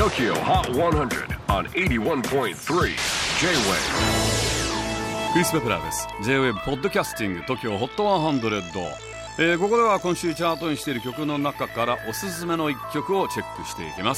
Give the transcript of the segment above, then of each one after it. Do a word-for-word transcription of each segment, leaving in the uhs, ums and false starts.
Tokyo Hot セーハンドレッド on エイティワンポイントスリー J-Wave。 クリス・ベプラーです。 J-Wave ポッドキャスティング Tokyo Hot セーハンドレッド、えー、ここでは今週チャートにしている曲の中からおすすめのいっきょくをチェックしていきます。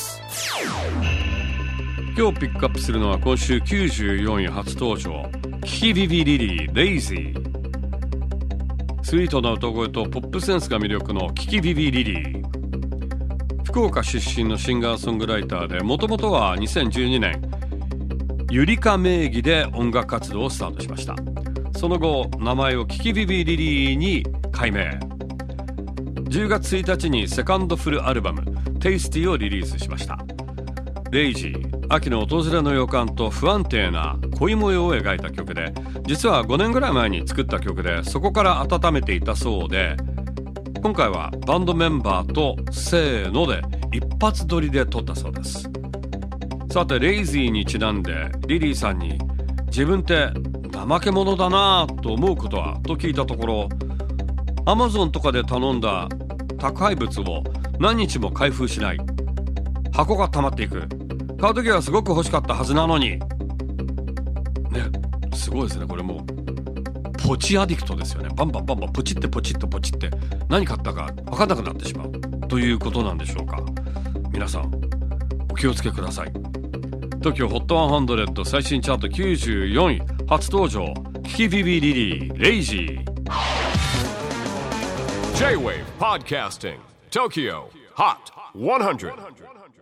今日ピックアップするのは今週きゅうじゅうよんい初登場、キキビビリリーレイジー。スイートな歌声とポップセンスが魅力のキキビビリリー。福岡出身のシンガーソングライターで、もともとはにせんじゅうにねんゆりか名義で音楽活動をスタートしました。その後名前をキキビビリリーに改名。じゅうがつついたちにセカンドフルアルバムテイスティをリリースしました。レイジー、秋の訪れの予感と不安定な恋模様を描いた曲で、実はごねんぐらい前に作った曲で、そこから温めていたそうで、今回はバンドメンバーとせーので一発撮りで撮ったそうです。さてレイジーにちなんでリリーさんに、自分って怠け者だなぁと思うことはと聞いたところ、アマゾンとかで頼んだ宅配物を何日も開封しない、箱が溜まっていく、買う時はすごく欲しかったはずなのにね。すごいですね。これもうポチアディクトですよね。バンバンバンバンポチってポチッとポチって何買ったか分かんなくなってしまうということなんでしょうか。皆さんお気をつけください。 TOKYO ホットセーハンドレッド最新チャートきゅうじゅうよんい初登場、キキビビリリーレイジー。 J-Wave Podcasting Tokyo Hot セーハンドレッド